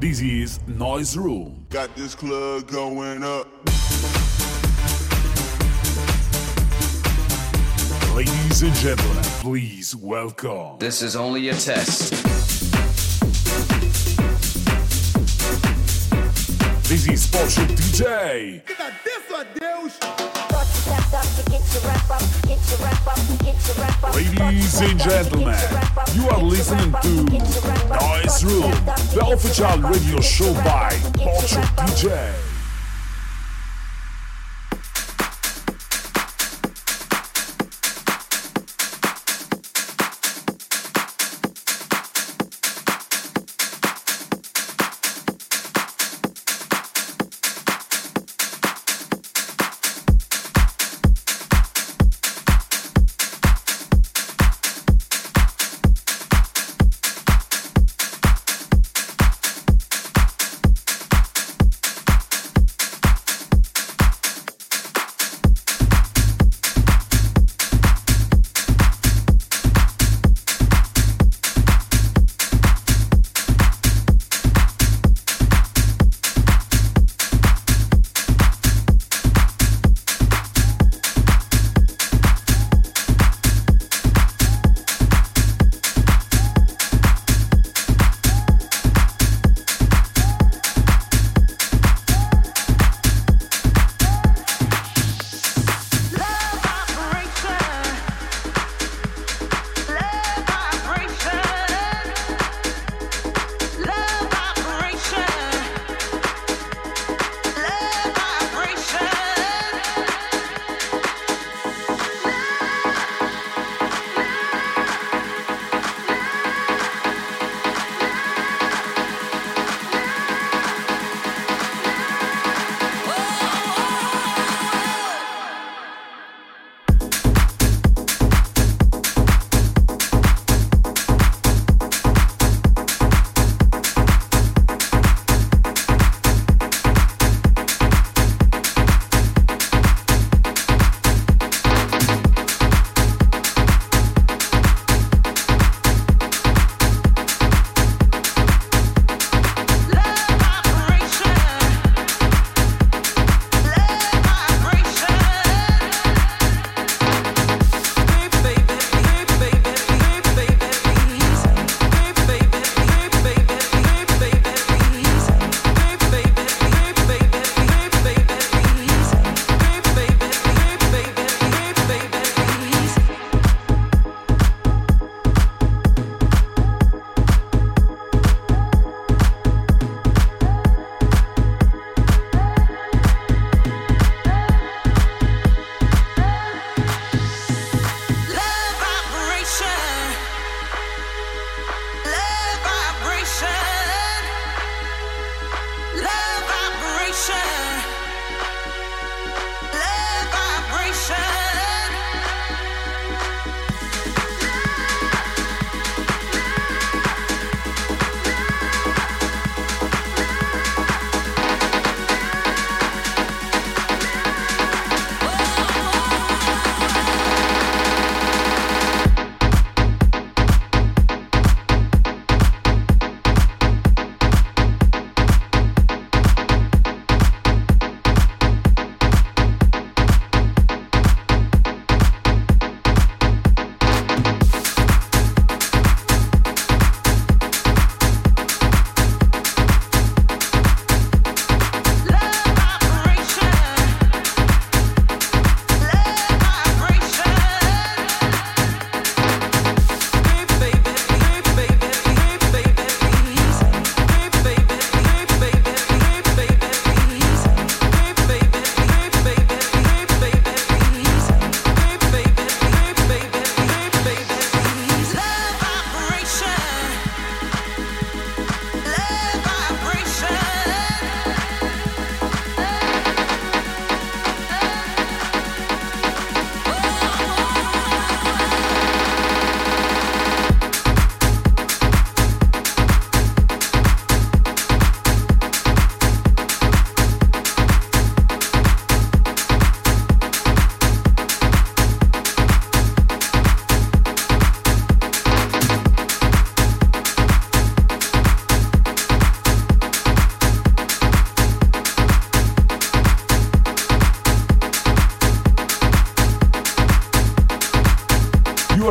This is Noise Room. Got this club going up. Ladies and gentlemen, please welcome. This is only a test. This is Pocho DJ. Ladies and gentlemen, you are listening to Noise Room, the official radio show by Pocho DJ.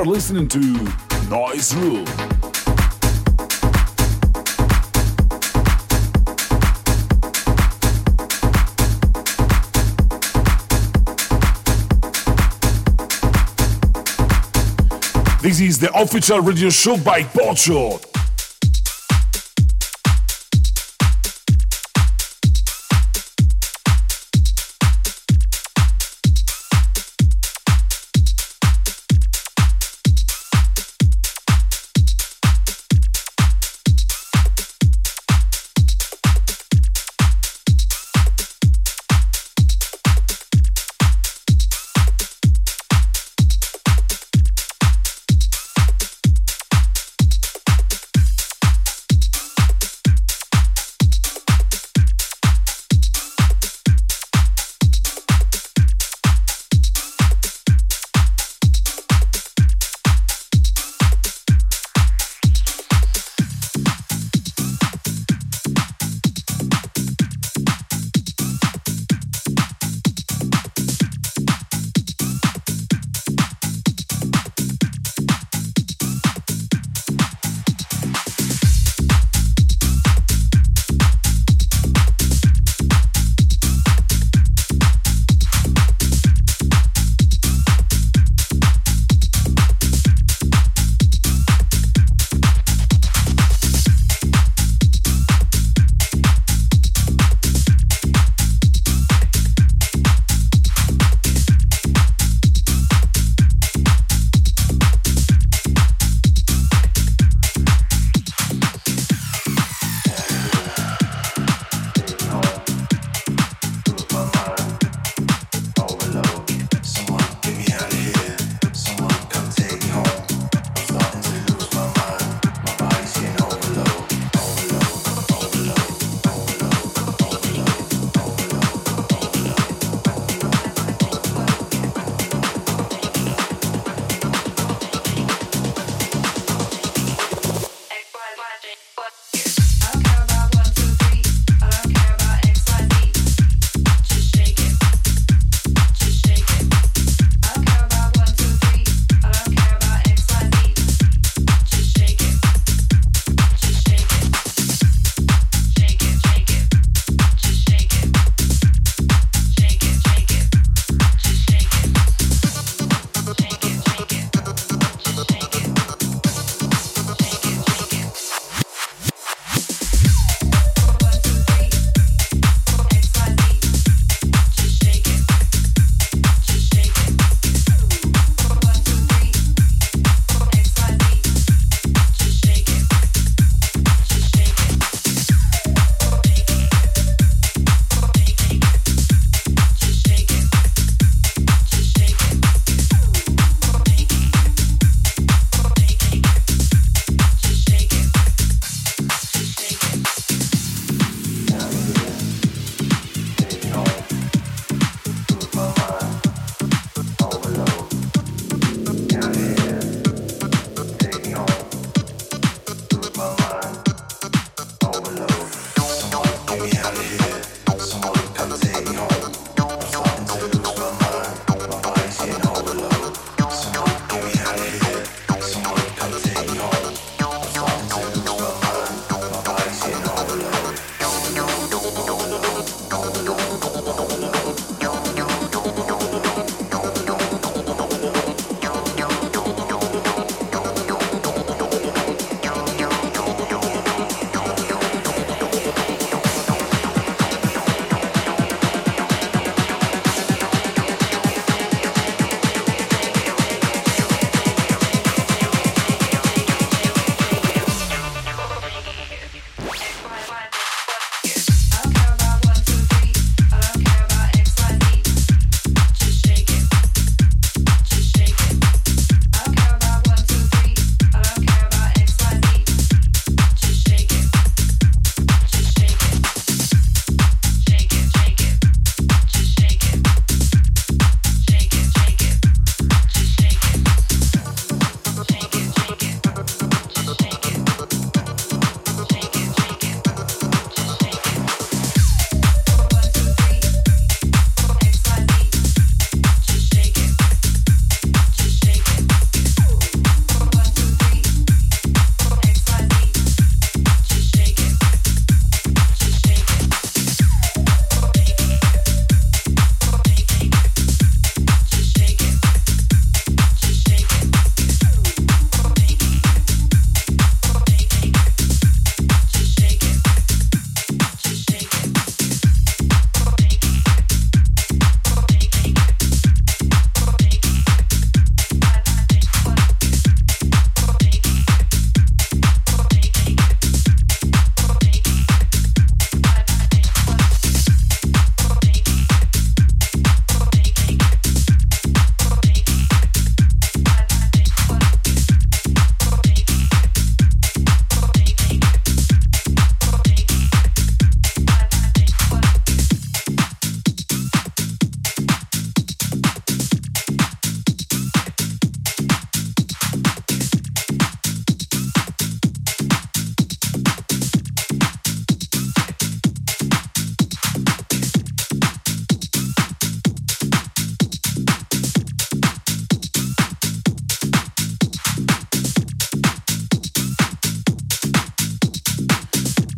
are listening to Noise Room. This is the official radio show by Pocho.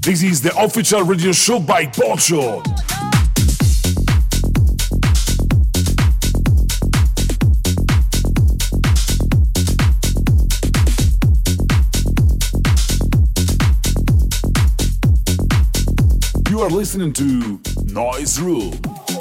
This is the official radio show by Pocho. You are listening to Noise Room.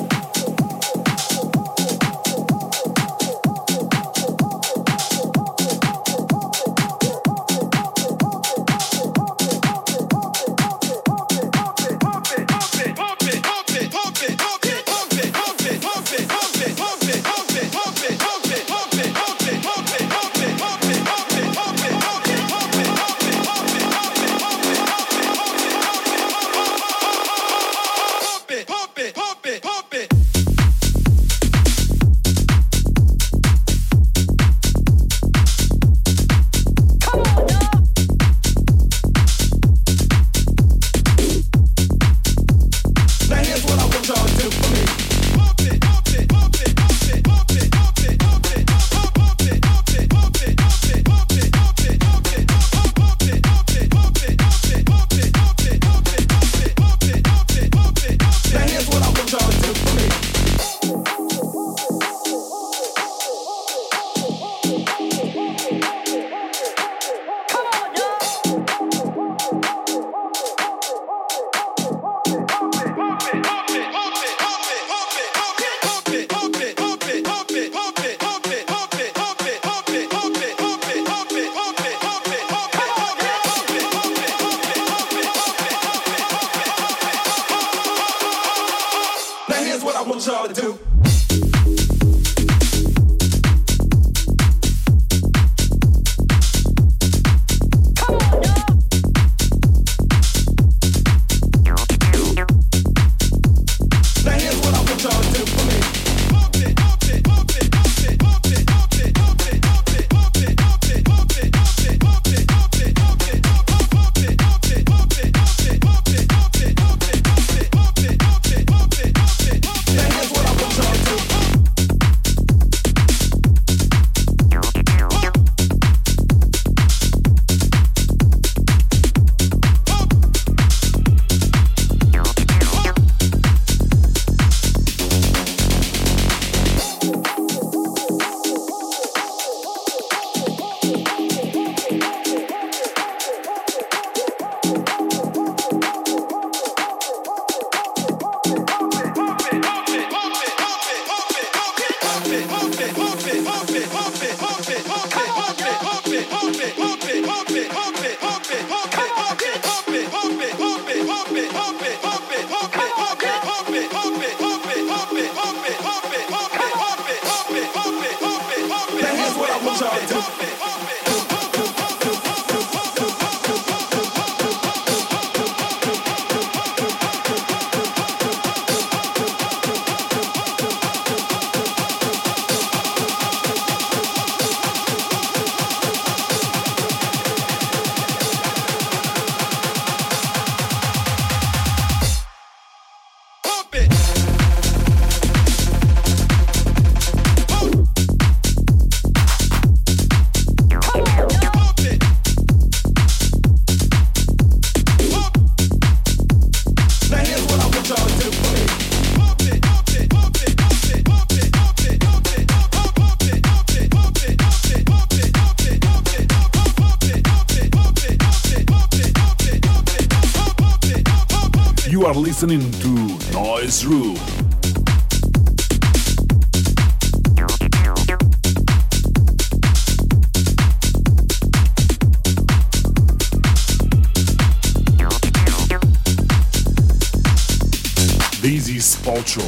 You are listening to Noise Room. This is Pocho.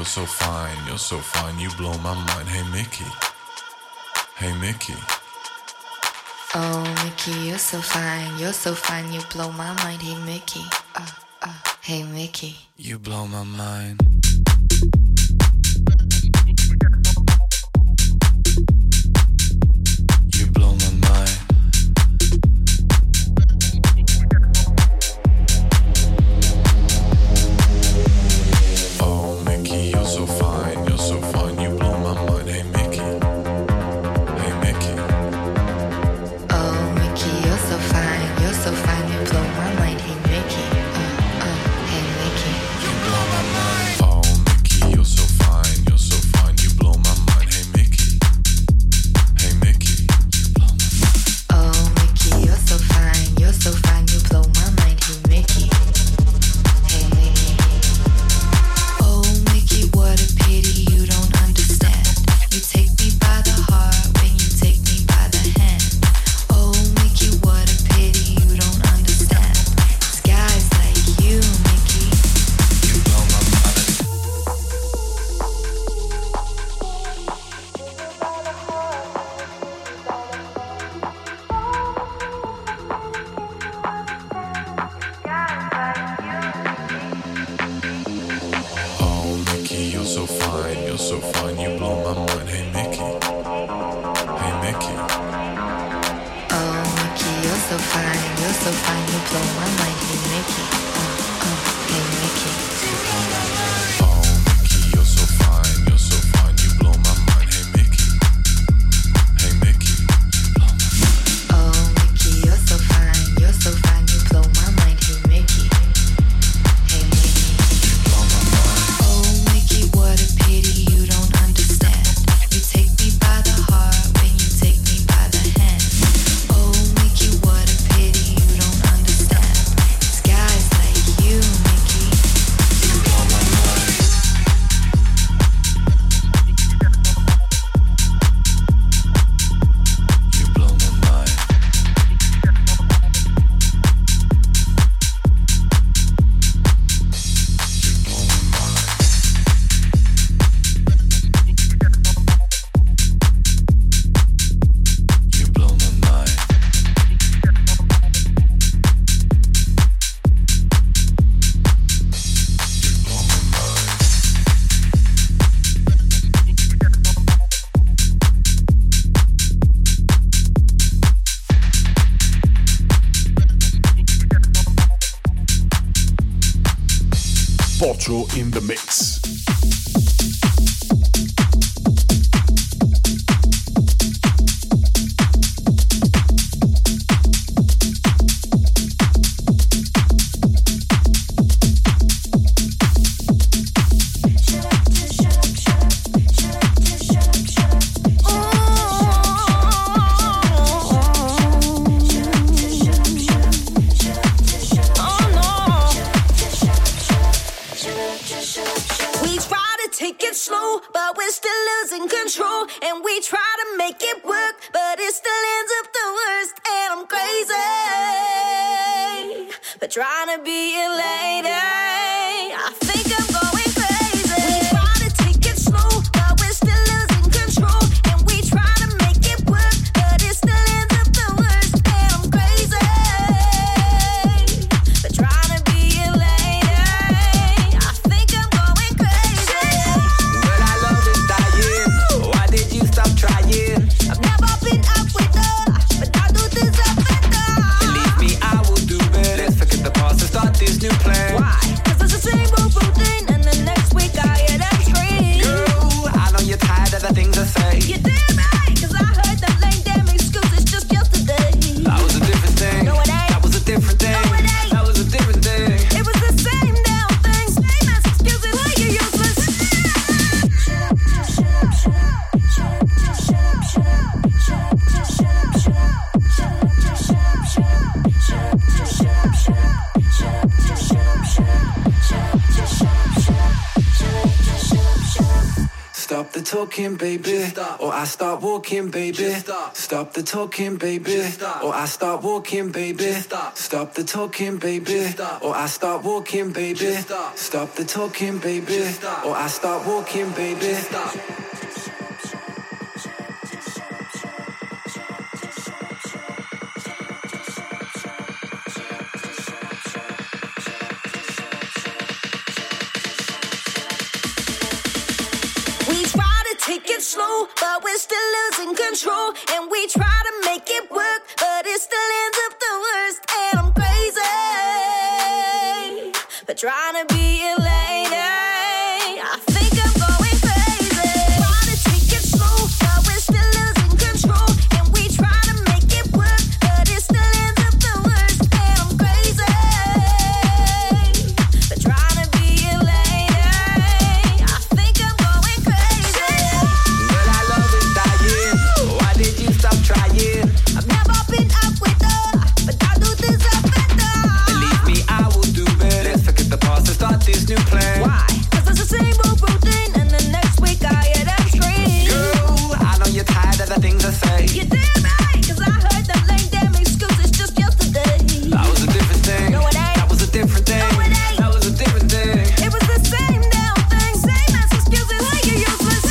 so fine, you're so fine, you blow my mind. Hey Mickey, hey Mickey. Oh Mickey, you're so fine, you blow my mind. Hey Mickey, hey Mickey. You blow my mind. You blow my mind. Oh Mickey, you're so fine, you blow my mind. Hey Mickey, hey Mickey. Oh Mickey, you're so fine, you blow my mind. Hey Mickey, hey Mickey. You blow my mind. Oh Mickey, you're so fine, you blow my mind. Hey Mickey, hey Mickey. You blow my mind. Oh Mickey, you're so fine, you blow my mind. Hey Mickey, hey Mickey. Oh Mickey, what a pity you don't understand. You take me by the heart when you take me by the hand. Oh Mickey, what a pity you don't understand. It's guys like you, Mickey. You blow my mind. Oh Mickey, you're so fine, you blow my mind. Hey Mickey, hey Mickey. Oh Mickey, you're so fine, you blow my mind. Hey Mickey, hey Mickey. Oh Mickey, you're so fine, you blow my mind. Hey Mickey, hey Mickey. You blow my mind. Oh Mickey, you're so fine, you blow my mind. Hey Mickey, hey Mickey. You blow my mind. Oh Mickey, what a pity you don't understand. You take me by the heart when you take me by the hand. Oh Mickey, what a pity you don't understand. It's guys like you, Mickey. You blow my mind. You blow my mind. You blow my mind. You blow my mind. You blow my mind. Pocho in the mix. We try to take it slow, but we're still losing control. And we try to make it work, but it still ends up the worst. And I'm crazy for trying to be a lady. I think I'm going crazy. We try to take it slow, but we're still losing control. And we try to make it work, but it still ends up the worst. And I'm crazy for trying to be a lady. I think I'm going crazy. But I love is dying. Why did you stop trying? I've never been out with her, but I do deserve better. Believe me, I will do better. Let's forget the past and start this new plan. Why? talking, baby, or I start walking, baby. Stop the talking, baby, or I start walking, baby. Stop the talking, baby, or I start walking, baby. Stop the talking, baby, or I start walking, baby. Take it slow, but we're still losing control. And we try to make it work, but it still ends up the worst. And I'm crazy for trying to be a lady. I think I'm going crazy. Try to take it slow, but we're still losing control. And we try to make it work, but it still ends up the worst. And I'm crazy for trying to be a lady. I think I'm going crazy. Trying. I've never been out with her, but I do this up better. Believe me, I will do better. Let's forget the past and start this new plan. Why? 'Cause it's the same old routine, and the next week I hear them scream. Girl, I know you're tired of the things I say. You damn right, 'cause I heard them lame damn excuses just yesterday. That was a different thing. No, it ain't. That was a different thing. No, it ain't. That was a different thing. It was the same damn thing, same as excuses, like you're useless.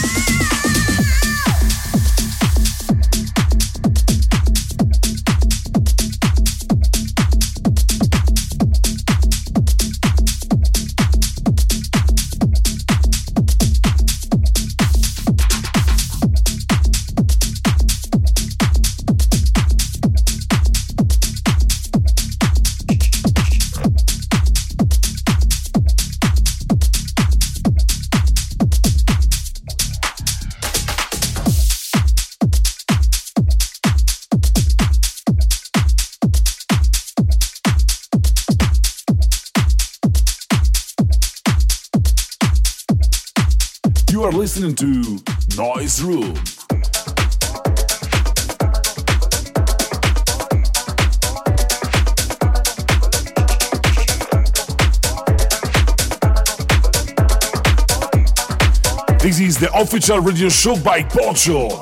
You are listening to Noise Room. This is the official radio show by Pocho.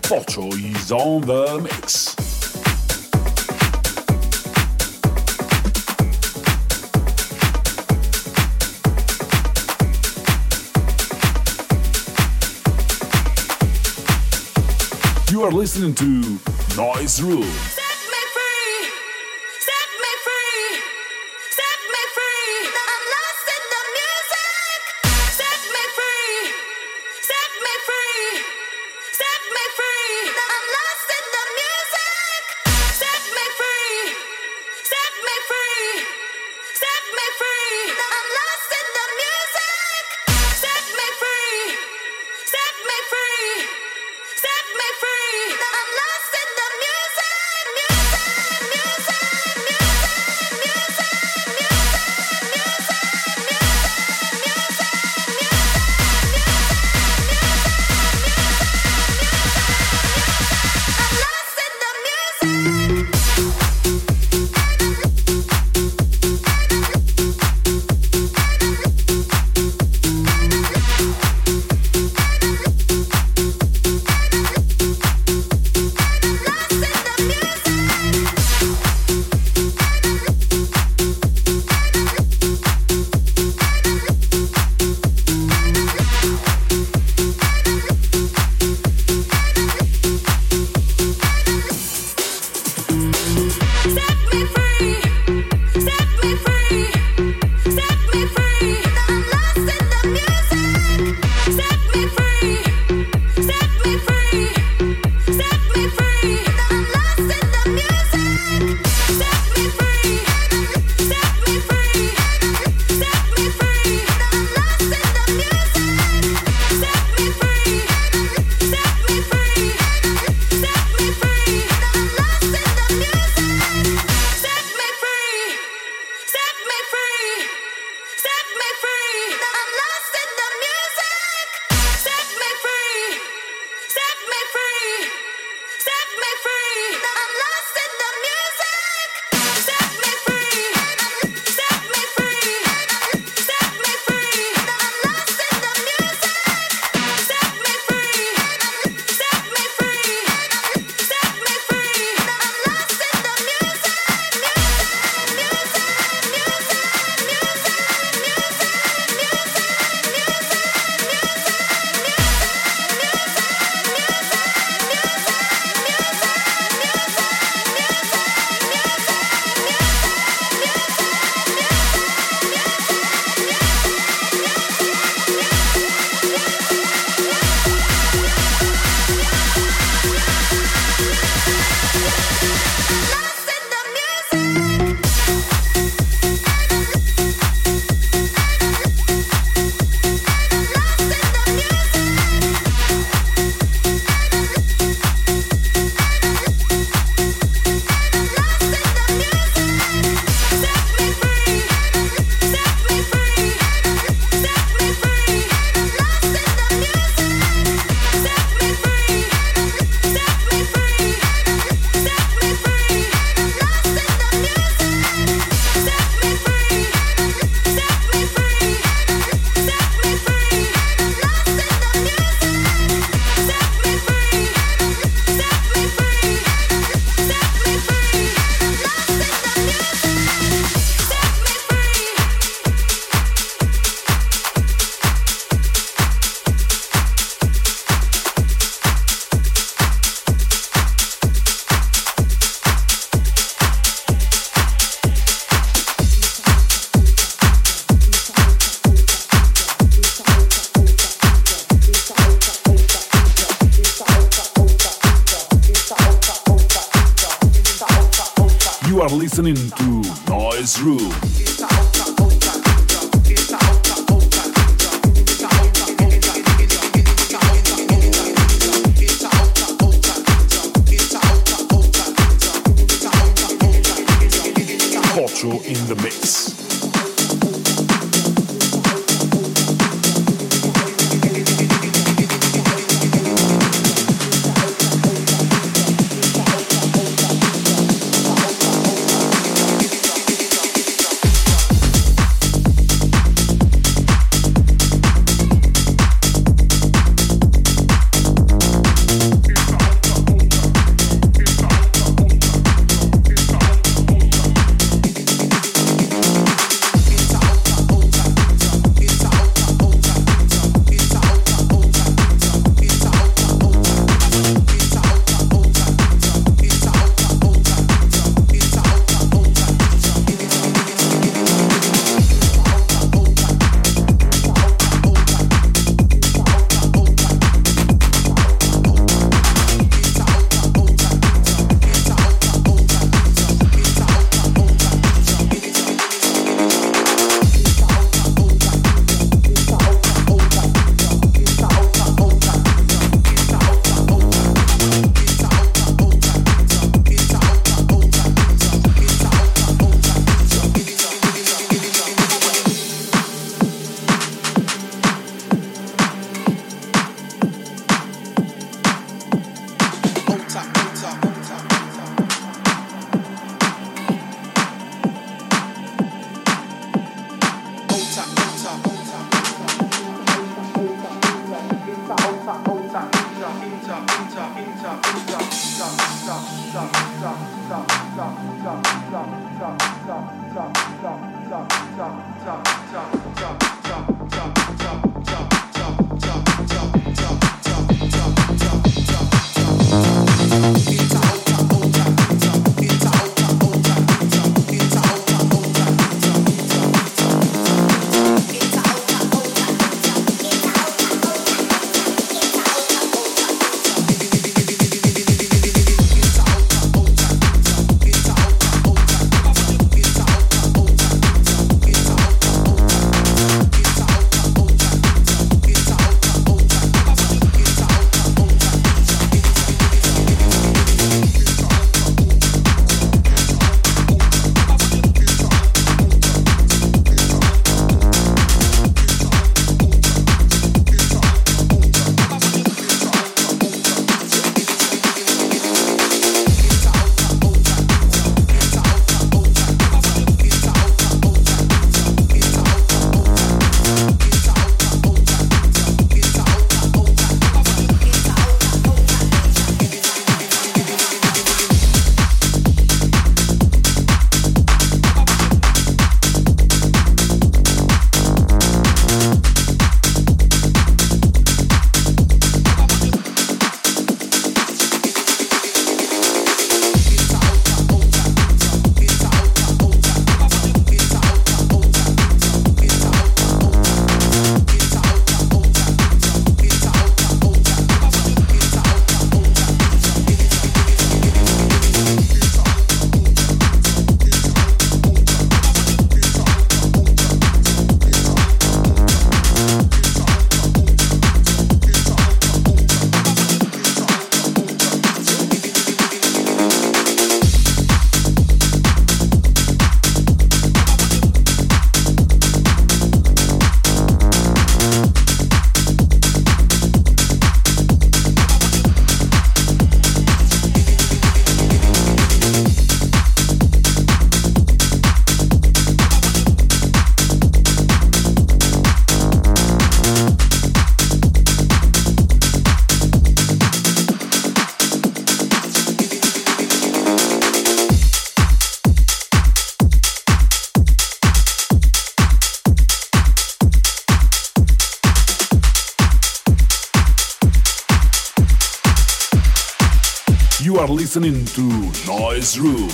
Pocho is on the mix. You are listening to Noise Room. You are listening to Noise Room. Pocho in the mix. You are listening to Noise Room.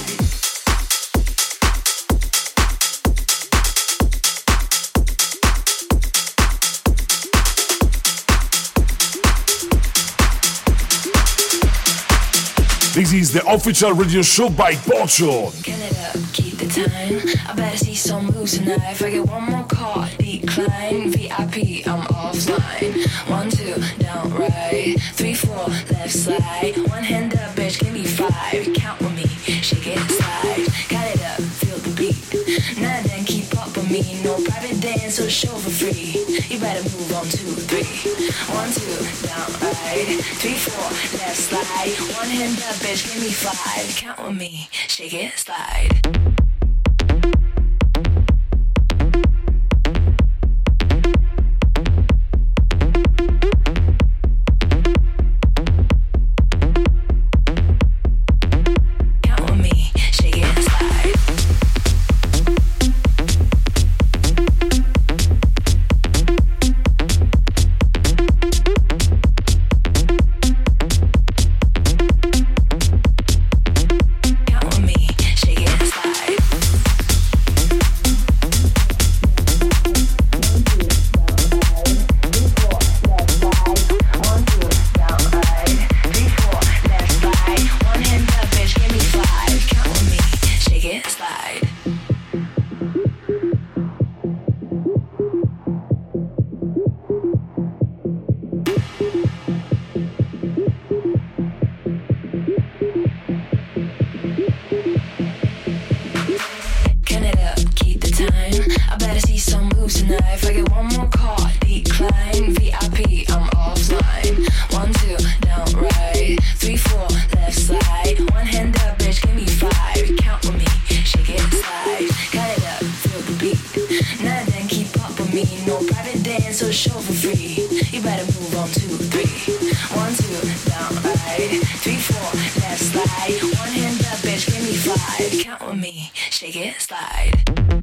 This is the official radio show by Pocho. Get it up, keep the time. I better see some moves tonight. If I get one more call, decline. VIP, I'm offline. 1, 2, down, right. 3, 4, left slide. One hand up, bitch, give me 5. Count with me, shake it, slide. Got it up, feel the beat. Now then, keep up with me. No private dance or show for free. You better move on 2, 3. 1, 2, down, right. 3, 4, left slide. One hand up, bitch, give me 5. Count with me, shake it, slide. no private dance or show for free. You better move on 2, 3. 1, 2, down, right. 3, 4, left slide. One hand up, bitch, give me 5. Count with me, shake it, slide.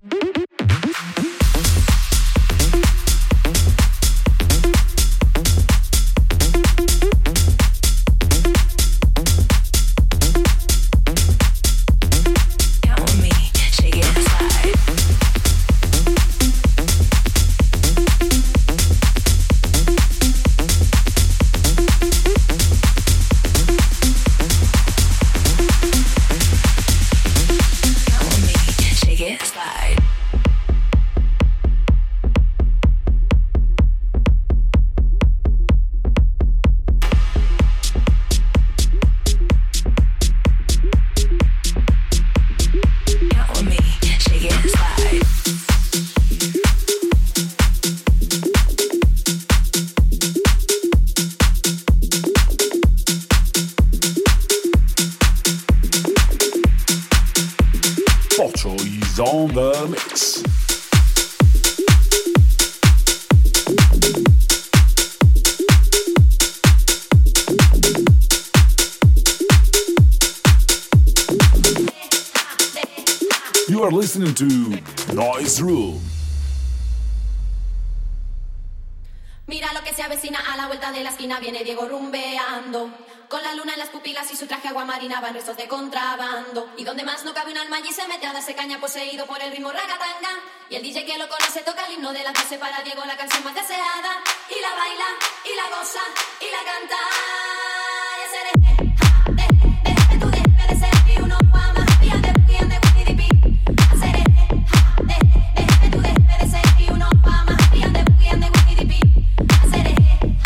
On the mix. You are listening to Noise Room. Mira lo que se avecina a la vuelta de la esquina, viene Diego rumbeando. Con la luna en las pupilas y su traje aguamarina van restos de contrabando. Y donde más no cabe un alma allí se mete a darse caña poseído por el ritmo ragatanga. Y el DJ que lo conoce toca el himno de las 12 para Diego, la canción más deseada. Y la baila, y la goza, y la canta. Y ese eres de tu deje de ser y uno ama. Y ande Winnie the Pooh. Hacer de tu deje de ser y uno ama. Y ande Winnie the Pooh. Hacer de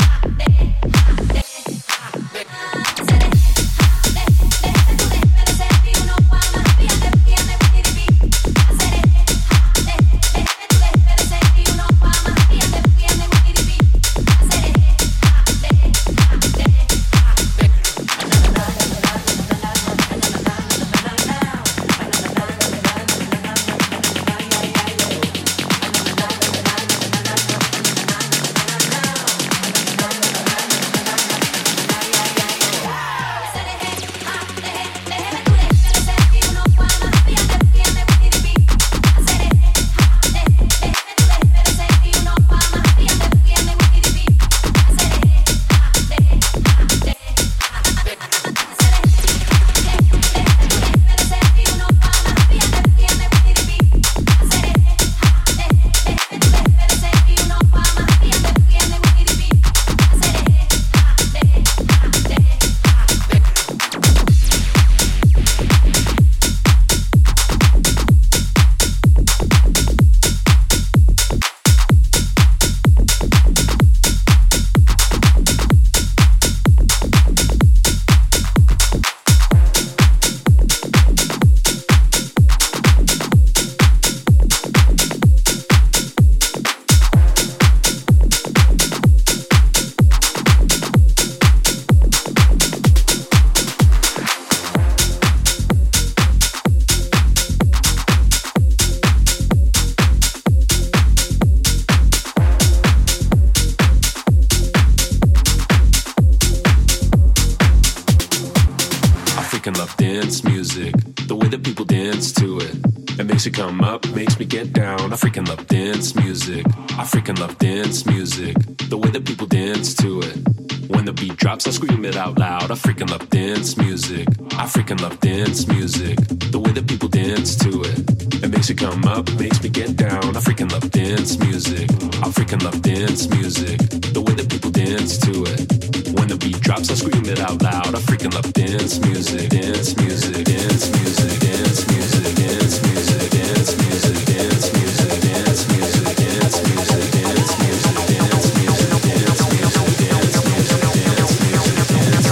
Makes you come up, makes me get down. I freaking love dance music. I freaking love dance music. The way that people dance to it. When the beat drops, I scream it out loud. I freaking love dance music. I freaking love dance music. The way that people dance to it. It makes you come up, makes me get down. I freaking love dance music. I freaking love dance music. The way that people dance to it. When the beat drops, I scream it out loud. I freaking love dance music. Dance music. Dance music. Dance music. Dance music. Dance music. Dance music. Dance music. Dance music. Dance music. Dance music. Dance music. Dance music. Dance music.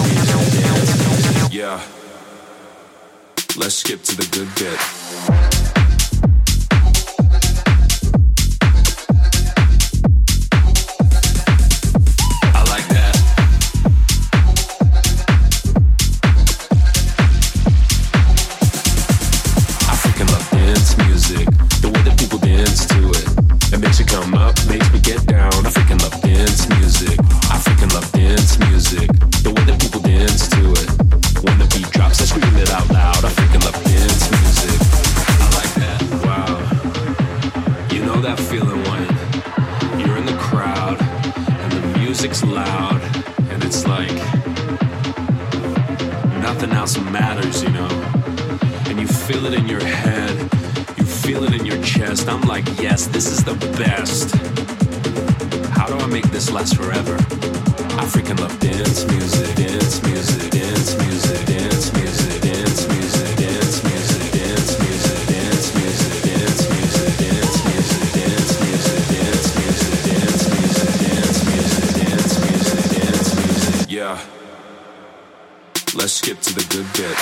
Dance music. Yeah. Let's skip to the good bit. Come up, makes me get else matters, you know. And you feel it in your head, you feel it in your chest. I'm like, yes, this is the best. How do I make this last forever? I freaking love dance music, dance music, dance music, dance music, dance music, dance music, dance music, dance music, dance music, dance music, dance music, dance music, dance music, dance music, dance music, dance music. Yeah. Let's skip to the good bit.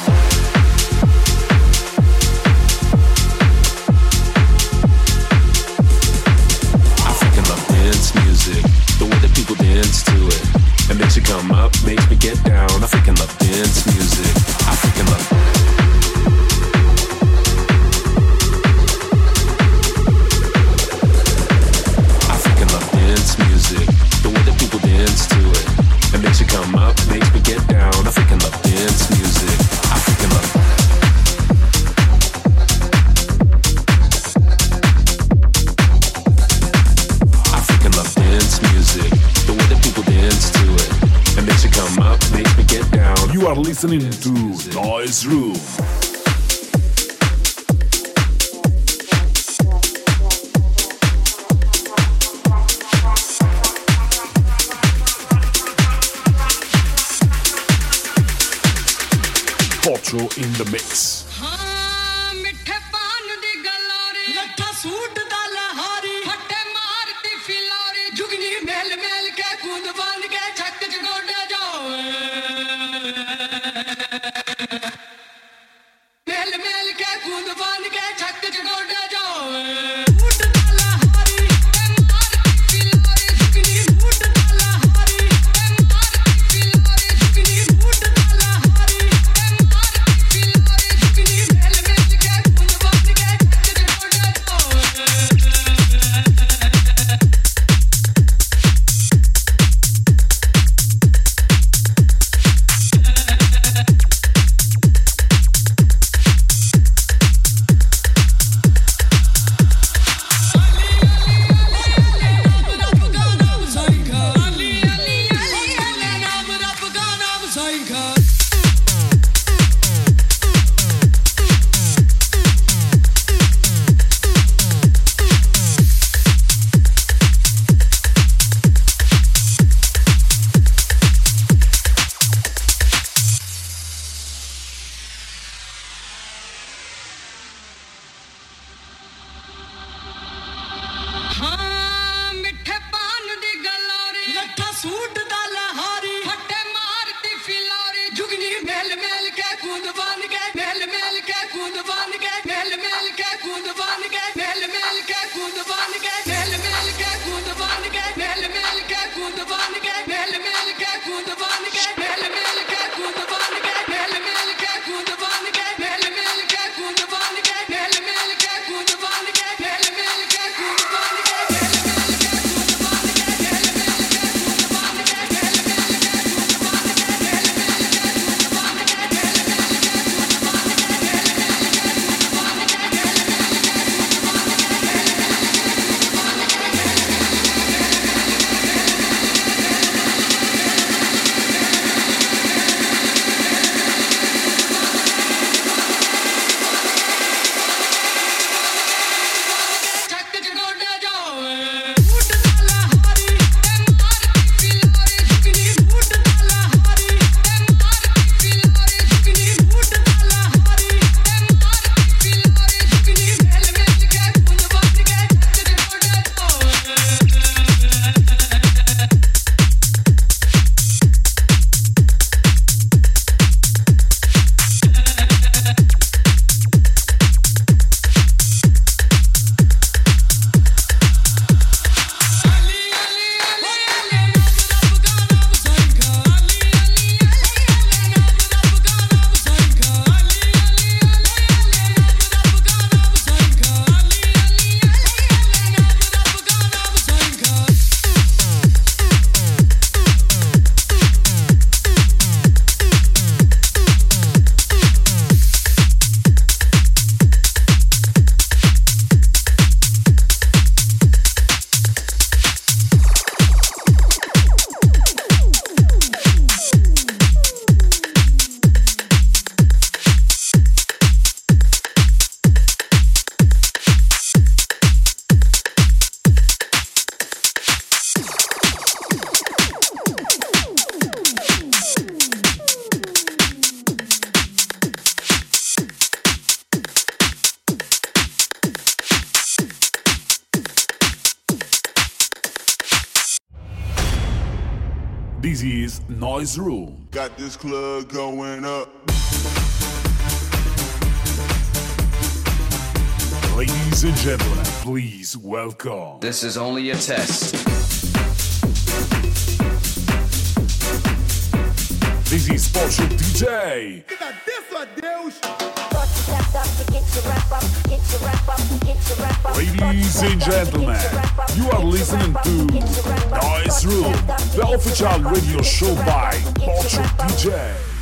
Dance music, the way that people dance to it. It makes you come up, makes me get down. I freaking love dance music. I freaking love. I freaking love dance music, the way that people dance to it. It makes you come up, makes me get down. I freaking love dance music. I freaking love. Dance music, the way that people dance to it. It makes you come up, makes me get down. You are listening to Noise Room. Potro in the mix. This is Noise Room. Got this club going up. Ladies and gentlemen, please welcome. This is only a test. This is Porsche DJ. Ladies and gentlemen, you are listening to Noise Room, the official radio show by Porsche DJ.